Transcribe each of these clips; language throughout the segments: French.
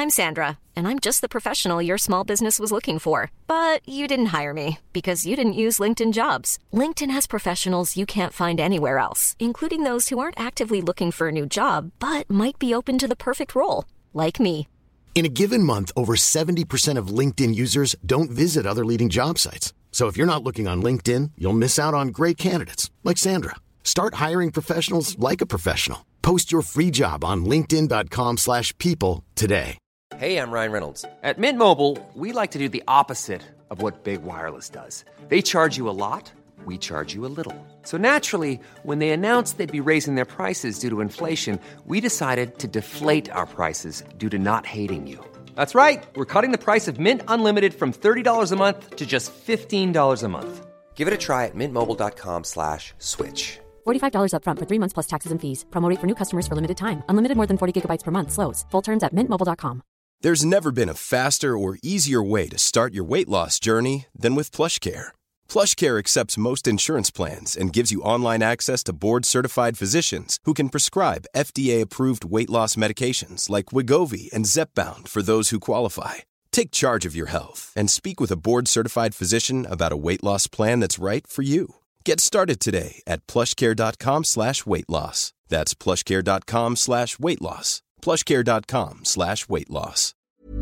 I'm Sandra, and I'm just the professional your small business was looking for. But you didn't hire me because you didn't use LinkedIn Jobs. LinkedIn has professionals you can't find anywhere else, including those who aren't actively looking for a new job, but might be open to the perfect role, like me. In a given month, over 70% of LinkedIn users don't visit other leading job sites. So if you're not looking on LinkedIn, you'll miss out on great candidates like Sandra. Start hiring professionals like a professional. Post your free job on linkedin.com/people today. Hey, I'm Ryan Reynolds. At Mint Mobile, we like to do the opposite of what Big Wireless does. They charge you a lot, we charge you a little. So naturally, when they announced they'd be raising their prices due to inflation, we decided to deflate our prices due to not hating you. That's right. We're cutting the price of Mint Unlimited from $30 a month to just $15 a month. Give it a try at mintmobile.com/switch. $45 up front for 3 months plus taxes and fees. Promo rate for new customers for limited time. Unlimited more than 40 gigabytes per month slows. Full terms at mintmobile.com. There's never been a faster or easier way to start your weight loss journey than with PlushCare. PlushCare accepts most insurance plans and gives you online access to board-certified physicians who can prescribe FDA-approved weight loss medications like Wegovy and Zepbound for those who qualify. Take charge of your health and speak with a board-certified physician about a weight loss plan that's right for you. Get started today at plushcare.com/weight loss. That's plushcare.com/weight loss. plushcare.com/weight loss.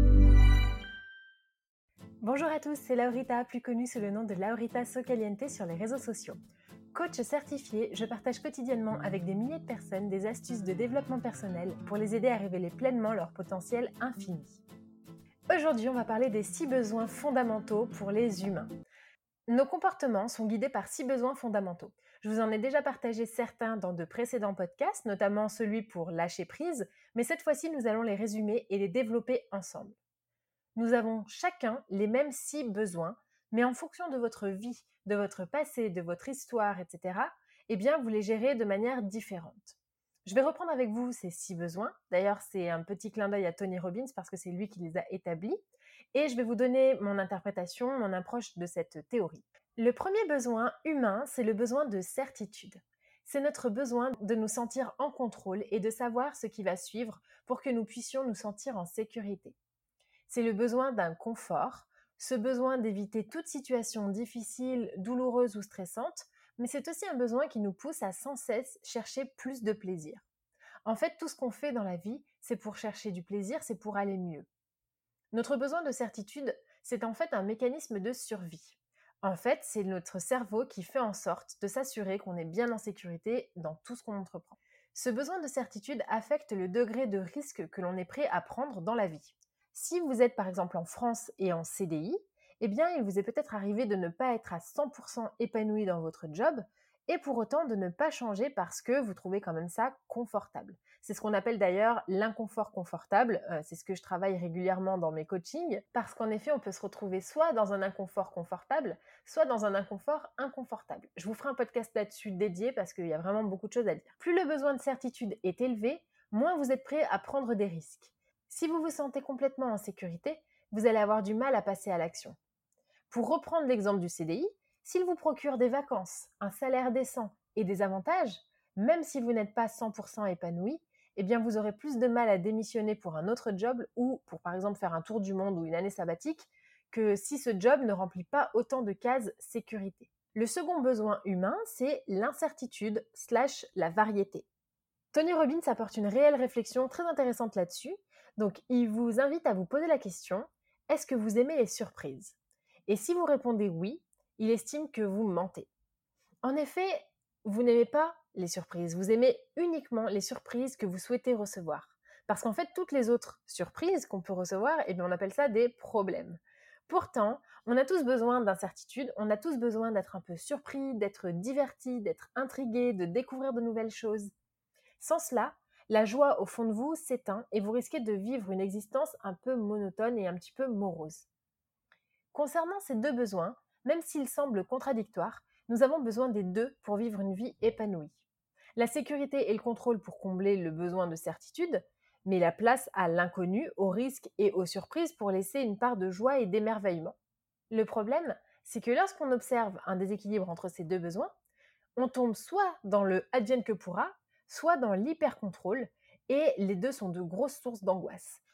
Bonjour à tous, c'est Laurita, plus connue sous le nom de Laurita Socaliente sur les réseaux sociaux. Coach certifié, je partage quotidiennement avec des milliers de personnes des astuces de développement personnel pour les aider à révéler pleinement leur potentiel infini. Aujourd'hui, on va parler des 6 besoins fondamentaux pour les humains. Nos comportements sont guidés par 6 besoins fondamentaux. Je vous en ai déjà partagé certains dans de précédents podcasts, notamment celui pour lâcher prise, mais cette fois-ci, nous allons les résumer et les développer ensemble. Nous avons chacun les mêmes 6 besoins, mais en fonction de votre vie, de votre passé, de votre histoire, etc., eh bien, vous les gérez de manière différente. Je vais reprendre avec vous ces 6 besoins. D'ailleurs, c'est un petit clin d'œil à Tony Robbins parce que c'est lui qui les a établis. Et je vais vous donner mon interprétation, mon approche de cette théorie. Le premier besoin humain, c'est le besoin de certitude. C'est notre besoin de nous sentir en contrôle et de savoir ce qui va suivre pour que nous puissions nous sentir en sécurité. C'est le besoin d'un confort, ce besoin d'éviter toute situation difficile, douloureuse ou stressante, mais c'est aussi un besoin qui nous pousse à sans cesse chercher plus de plaisir. En fait, tout ce qu'on fait dans la vie, c'est pour chercher du plaisir, c'est pour aller mieux. Notre besoin de certitude, c'est en fait un mécanisme de survie. En fait, c'est notre cerveau qui fait en sorte de s'assurer qu'on est bien en sécurité dans tout ce qu'on entreprend. Ce besoin de certitude affecte le degré de risque que l'on est prêt à prendre dans la vie. Si vous êtes par exemple en France et en CDI, eh bien il vous est peut-être arrivé de ne pas être à 100% épanoui dans votre job et pour autant de ne pas changer parce que vous trouvez quand même ça confortable. C'est ce qu'on appelle d'ailleurs l'inconfort confortable, c'est ce que je travaille régulièrement dans mes coachings, parce qu'en effet on peut se retrouver soit dans un inconfort confortable, soit dans un inconfort inconfortable. Je vous ferai un podcast là-dessus dédié parce qu'il y a vraiment beaucoup de choses à dire. Plus le besoin de certitude est élevé, moins vous êtes prêt à prendre des risques. Si vous vous sentez complètement en sécurité, vous allez avoir du mal à passer à l'action. Pour reprendre l'exemple du CDI, s'il vous procure des vacances, un salaire décent et des avantages, même si vous n'êtes pas 100% épanoui, eh bien vous aurez plus de mal à démissionner pour un autre job ou pour par exemple faire un tour du monde ou une année sabbatique que si ce job ne remplit pas autant de cases sécurité. Le second besoin humain, c'est l'incertitude / la variété. Tony Robbins apporte une réelle réflexion très intéressante là-dessus. Donc, il vous invite à vous poser la question, est-ce que vous aimez les surprises ? Et si vous répondez oui, il estime que vous mentez. En effet, vous n'aimez pas les surprises, vous aimez uniquement les surprises que vous souhaitez recevoir. Parce qu'en fait, toutes les autres surprises qu'on peut recevoir, eh bien, on appelle ça des problèmes. Pourtant, on a tous besoin d'incertitude, on a tous besoin d'être un peu surpris, d'être diverti, d'être intrigué, de découvrir de nouvelles choses. Sans cela, la joie au fond de vous s'éteint et vous risquez de vivre une existence un peu monotone et un petit peu morose. Concernant ces 2 besoins, même s'ils semblent contradictoires, nous avons besoin des 2 pour vivre une vie épanouie. La sécurité et le contrôle pour combler le besoin de certitude, mais la place à l'inconnu, au risque et aux surprises pour laisser une part de joie et d'émerveillement. Le problème, c'est que lorsqu'on observe un déséquilibre entre ces 2 besoins, on tombe soit dans le advienne que pourra, soit dans l'hyper-contrôle, et les 2 sont de grosses sources d'angoisse.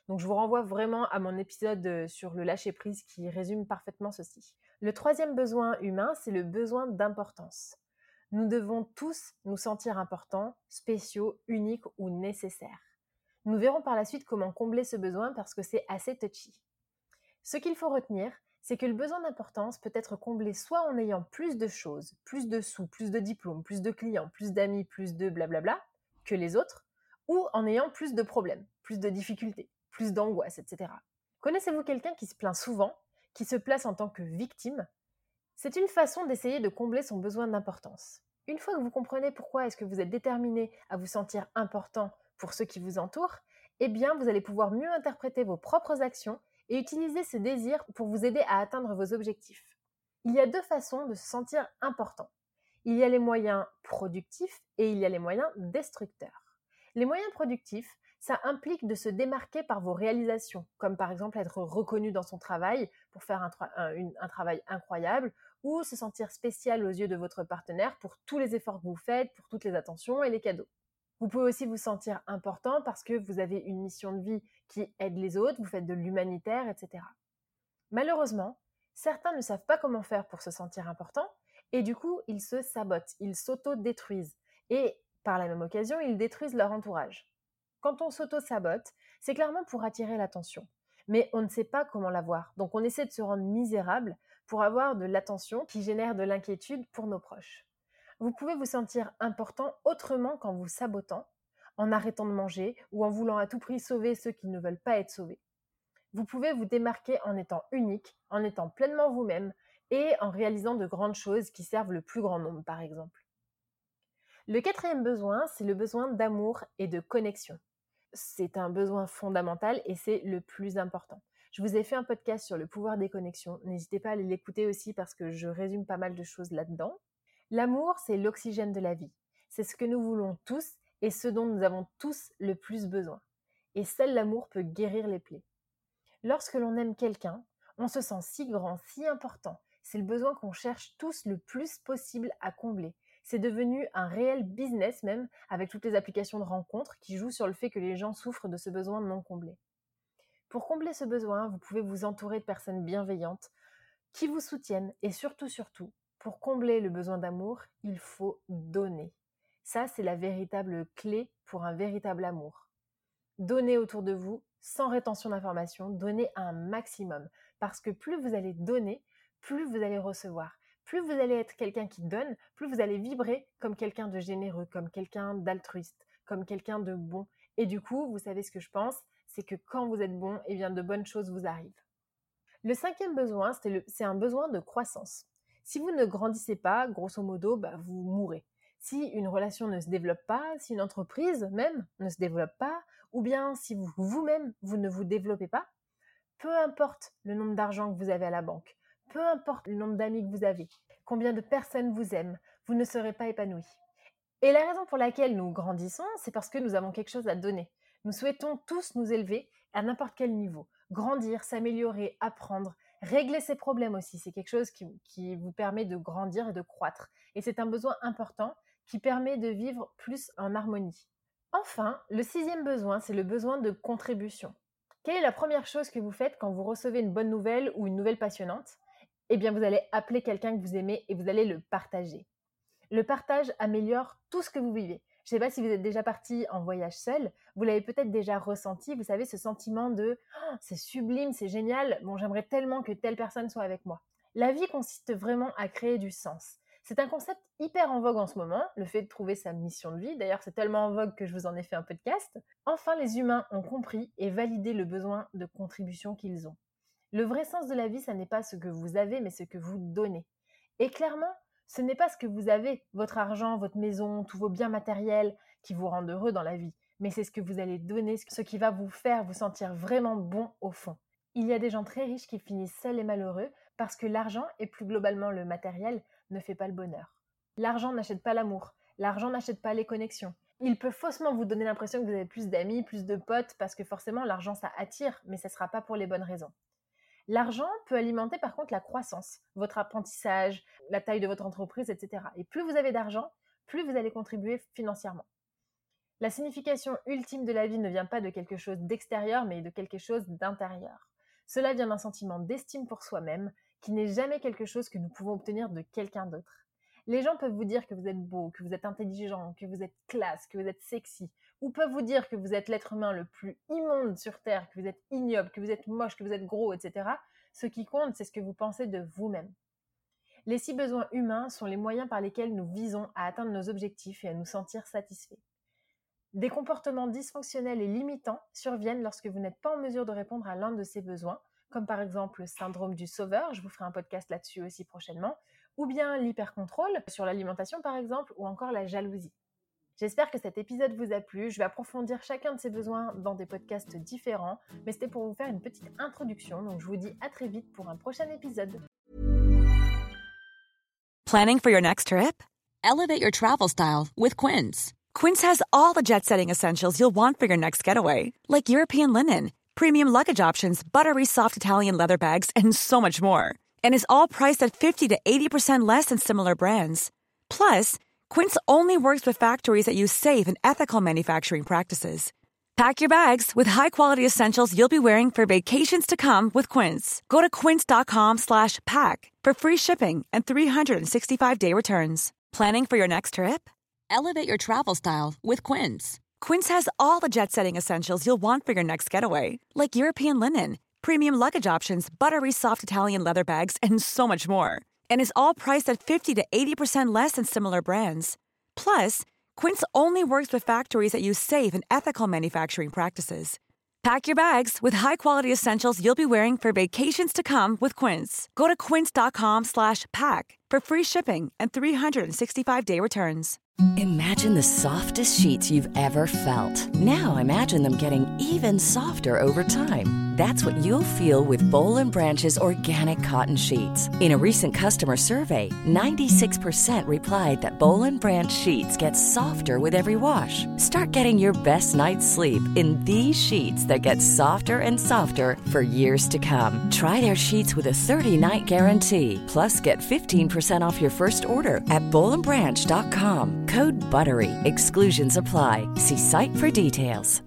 Donc je vous renvoie vraiment à mon épisode sur le lâcher-prise qui résume parfaitement ceci. Le troisième besoin humain, c'est le besoin d'importance. Nous devons tous nous sentir importants, spéciaux, uniques ou nécessaires. Nous verrons par la suite comment combler ce besoin parce que c'est assez touchy. Ce qu'il faut retenir, c'est que le besoin d'importance peut être comblé soit en ayant plus de choses, plus de sous, plus de diplômes, plus de clients, plus d'amis, plus de blablabla que les autres, ou en ayant plus de problèmes, plus de difficultés, plus d'angoisse, etc. Connaissez-vous quelqu'un qui se plaint souvent, qui se place en tant que victime ? C'est une façon d'essayer de combler son besoin d'importance. Une fois que vous comprenez pourquoi est-ce que vous êtes déterminé à vous sentir important pour ceux qui vous entourent, eh bien vous allez pouvoir mieux interpréter vos propres actions et utiliser ce désir pour vous aider à atteindre vos objectifs. Il y a deux façons de se sentir important. Il y a les moyens productifs et il y a les moyens destructeurs. Les moyens productifs, ça implique de se démarquer par vos réalisations, comme par exemple être reconnu dans son travail pour faire un travail incroyable, ou se sentir spécial aux yeux de votre partenaire pour tous les efforts que vous faites, pour toutes les attentions et les cadeaux. Vous pouvez aussi vous sentir important parce que vous avez une mission de vie qui aide les autres, vous faites de l'humanitaire, etc. Malheureusement, certains ne savent pas comment faire pour se sentir important et du coup, ils se sabotent, ils s'auto-détruisent et par la même occasion, ils détruisent leur entourage. Quand on s'auto-sabote, c'est clairement pour attirer l'attention, mais on ne sait pas comment l'avoir, donc on essaie de se rendre misérable pour avoir de l'attention qui génère de l'inquiétude pour nos proches. Vous pouvez vous sentir important autrement qu'en vous sabotant, en arrêtant de manger ou en voulant à tout prix sauver ceux qui ne veulent pas être sauvés. Vous pouvez vous démarquer en étant unique, en étant pleinement vous-même et en réalisant de grandes choses qui servent le plus grand nombre, par exemple. Le quatrième besoin, c'est le besoin d'amour et de connexion. C'est un besoin fondamental et c'est le plus important. Je vous ai fait un podcast sur le pouvoir des connexions. N'hésitez pas à aller l'écouter aussi parce que je résume pas mal de choses là-dedans. L'amour, c'est l'oxygène de la vie. C'est ce que nous voulons tous et ce dont nous avons tous le plus besoin. Et seul l'amour peut guérir les plaies. Lorsque l'on aime quelqu'un, on se sent si grand, si important. C'est le besoin qu'on cherche tous le plus possible à combler. C'est devenu un réel business même, avec toutes les applications de rencontres qui jouent sur le fait que les gens souffrent de ce besoin non comblé. Pour combler ce besoin, vous pouvez vous entourer de personnes bienveillantes qui vous soutiennent et surtout, pour combler le besoin d'amour, il faut donner. Ça, c'est la véritable clé pour un véritable amour. Donnez autour de vous, sans rétention d'informations, donnez un maximum. Parce que plus vous allez donner, plus vous allez recevoir. Plus vous allez être quelqu'un qui donne, plus vous allez vibrer comme quelqu'un de généreux, comme quelqu'un d'altruiste, comme quelqu'un de bon. Et du coup, vous savez ce que je pense, c'est que quand vous êtes bon, eh bien de bonnes choses vous arrivent. Le cinquième besoin, c'est un besoin de croissance. Si vous ne grandissez pas, grosso modo, vous mourrez. Si une relation ne se développe pas, si une entreprise même ne se développe pas, ou bien si vous-même, vous ne vous développez pas, peu importe le nombre d'argent que vous avez à la banque, peu importe le nombre d'amis que vous avez, combien de personnes vous aiment, vous ne serez pas épanoui. Et la raison pour laquelle nous grandissons, c'est parce que nous avons quelque chose à donner. Nous souhaitons tous nous élever à n'importe quel niveau, grandir, s'améliorer, apprendre, régler ses problèmes aussi. C'est quelque chose qui vous permet de grandir et de croître. Et c'est un besoin important qui permet de vivre plus en harmonie. Enfin, le sixième besoin, c'est le besoin de contribution. Quelle est la première chose que vous faites quand vous recevez une bonne nouvelle ou une nouvelle passionnante ? Eh bien, vous allez appeler quelqu'un que vous aimez et vous allez le partager. Le partage améliore tout ce que vous vivez. Je ne sais pas si vous êtes déjà parti en voyage seul, vous l'avez peut-être déjà ressenti, vous savez, ce sentiment de « c'est sublime, c'est génial, bon, j'aimerais tellement que telle personne soit avec moi ». La vie consiste vraiment à créer du sens. C'est un concept hyper en vogue en ce moment, le fait de trouver sa mission de vie. D'ailleurs, c'est tellement en vogue que je vous en ai fait un podcast. Enfin, les humains ont compris et validé le besoin de contribution qu'ils ont. Le vrai sens de la vie, ça n'est pas ce que vous avez, mais ce que vous donnez. Et clairement, ce n'est pas ce que vous avez, votre argent, votre maison, tous vos biens matériels qui vous rendent heureux dans la vie, mais c'est ce que vous allez donner, ce qui va vous faire vous sentir vraiment bon au fond. Il y a des gens très riches qui finissent seuls et malheureux parce que l'argent, et plus globalement le matériel, ne fait pas le bonheur. L'argent n'achète pas l'amour, l'argent n'achète pas les connexions. Il peut faussement vous donner l'impression que vous avez plus d'amis, plus de potes, parce que forcément l'argent ça attire, mais ça ne sera pas pour les bonnes raisons. L'argent peut alimenter par contre la croissance, votre apprentissage, la taille de votre entreprise, etc. Et plus vous avez d'argent, plus vous allez contribuer financièrement. La signification ultime de la vie ne vient pas de quelque chose d'extérieur, mais de quelque chose d'intérieur. Cela vient d'un sentiment d'estime pour soi-même, qui n'est jamais quelque chose que nous pouvons obtenir de quelqu'un d'autre. Les gens peuvent vous dire que vous êtes beau, que vous êtes intelligent, que vous êtes classe, que vous êtes sexy, ou peuvent vous dire que vous êtes l'être humain le plus immonde sur Terre, que vous êtes ignoble, que vous êtes moche, que vous êtes gros, etc. Ce qui compte, c'est ce que vous pensez de vous-même. Les 6 besoins humains sont les moyens par lesquels nous visons à atteindre nos objectifs et à nous sentir satisfaits. Des comportements dysfonctionnels et limitants surviennent lorsque vous n'êtes pas en mesure de répondre à l'un de ces besoins, comme par exemple le syndrome du sauveur, je vous ferai un podcast là-dessus aussi prochainement, ou bien l'hypercontrôle sur l'alimentation par exemple, ou encore la jalousie. J'espère que cet épisode vous a plu, je vais approfondir chacun de ces besoins dans des podcasts différents, mais c'était pour vous faire une petite introduction, donc je vous dis à très vite pour un prochain épisode. Planning for your next trip? Elevate your travel style with Quince. Quince has all the jet-setting essentials you'll want for your next getaway, like European linen, premium luggage options, buttery soft Italian leather bags, and so much more. And is all priced at 50 to 80% less than similar brands. Plus, Quince only works with factories that use safe and ethical manufacturing practices. Pack your bags with high-quality essentials you'll be wearing for vacations to come with Quince. Go to quince.com/pack for free shipping and 365-day returns. Planning for your next trip? Elevate your travel style with Quince. Quince has all the jet-setting essentials you'll want for your next getaway, like European linen, premium luggage options, buttery soft Italian leather bags, and so much more. And is all priced at 50 to 80% less than similar brands. Plus, Quince only works with factories that use safe and ethical manufacturing practices. Pack your bags with high-quality essentials you'll be wearing for vacations to come with Quince. Go to quince.com/pack for free shipping and 365-day returns. Imagine the softest sheets you've ever felt. Now imagine them getting even softer over time. That's what you'll feel with Boll & Branch's organic cotton sheets. In a recent customer survey, 96% replied that Boll & Branch sheets get softer with every wash. Start getting your best night's sleep in these sheets that get softer and softer for years to come. Try their sheets with a 30-night guarantee. Plus, get 15% off your first order at bollandbranch.com. Code BUTTERY. Exclusions apply. See site for details.